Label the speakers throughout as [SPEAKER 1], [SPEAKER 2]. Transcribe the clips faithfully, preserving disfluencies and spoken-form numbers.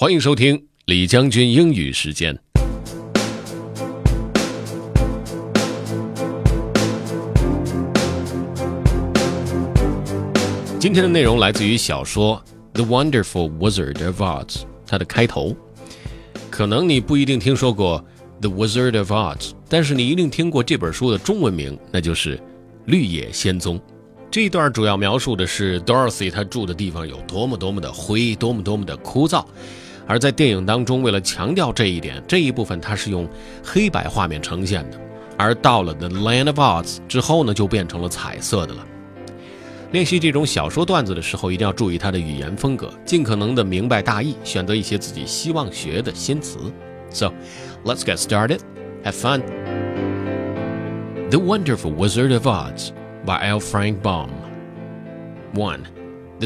[SPEAKER 1] 欢迎收听李将军英语时间。今天的内容来自于小说《The Wonderful Wizard of Oz》，它的开头。可能你不一定听说过 The Wizard of Oz， 但是你一定听过这本书的中文名，那就是《绿野仙踪》。这一段主要描述的是 Dorothy 她住的地方有多么多么的灰，多么多么的枯燥。而在电影当中，为了强调这一点，这一部分它是用黑白画面呈现的，而到了 The Land of Oz 之后呢，就变成了彩色的了。练习这种小说段子的时候，一定要注意它的语言风格，尽可能的明白大意，选择一些自己希望学的新词。So, let's get started. Have fun. The Wonderful Wizard of Oz by L. Frank Baum. one. The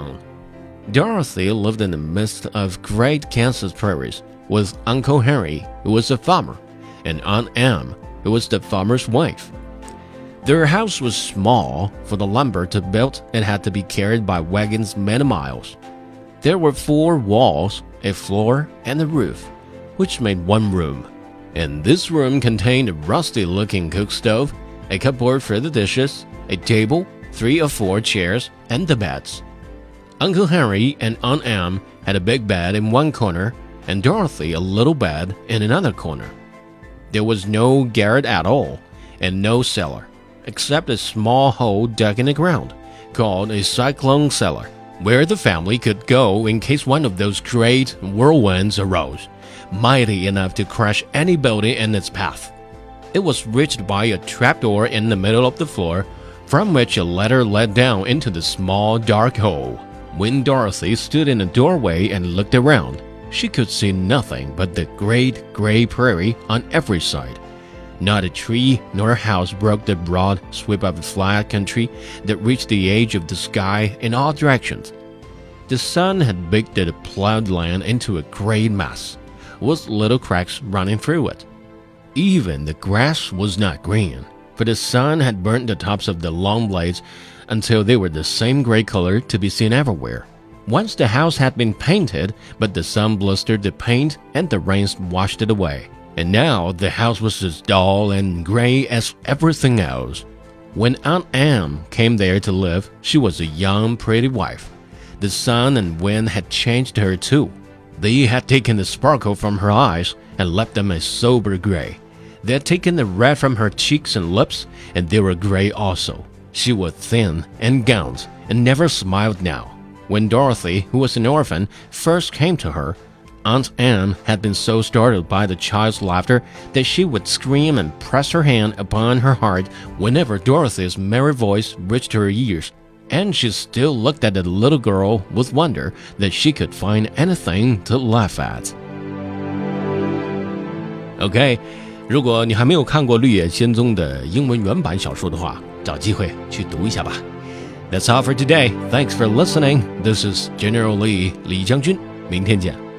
[SPEAKER 1] Cyclone.Dorothy lived in the midst of great Kansas prairies with Uncle Henry, who was a farmer, and Aunt Em, who was the farmer's wife. Their house was small, for the lumber to build it had to be carried by wagons many miles. There were four walls, a floor, and a roof, which made one room. And this room contained a rusty-looking cook stove, a cupboard for the dishes, a table, three or four chairs, and the beds.Uncle Henry and Aunt Em had a big bed in one corner, and Dorothy a little bed in another corner. There was no garret at all, and no cellar, except a small hole dug in the ground, called a cyclone cellar, where the family could go in case one of those great whirlwinds arose, mighty enough to crush any building in its path. It was reached by a trapdoor in the middle of the floor, from which a ladder led down into the small dark hole.When Dorothy stood in the doorway and looked around, she could see nothing but the great gray prairie on every side. Not a tree nor a house broke the broad sweep of flat country that reached the edge of the sky in all directions. The sun had baked the plowed land into a gray mass, with little cracks running through it. Even the grass was not green, for the sun had burnt the tops of the long blades,until they were the same gray color to be seen everywhere. Once the house had been painted, but the sun blistered the paint and the rains washed it away. And now the house was as dull and gray as everything else. When Aunt Em came there to live, she was a young, pretty wife. The sun and wind had changed her too. They had taken the sparkle from her eyes and left them a sober gray. They had taken the red from her cheeks and lips, and they were gray also.She was thin and gaunt and never smiled now. When Dorothy, who was an orphan, first came to her, Aunt Em had been so startled by the child's laughter that she would scream and press her hand upon her heart whenever Dorothy's merry voice reached her ears, and she still looked at the little girl with wonder that she could find anything to laugh at. OK, 如果你还没有看过《绿野仙踪》的英文原版小说的话，找机会去读一下吧。That's all for today. Thanks for listening. This is General Lee, 李将军。明天见。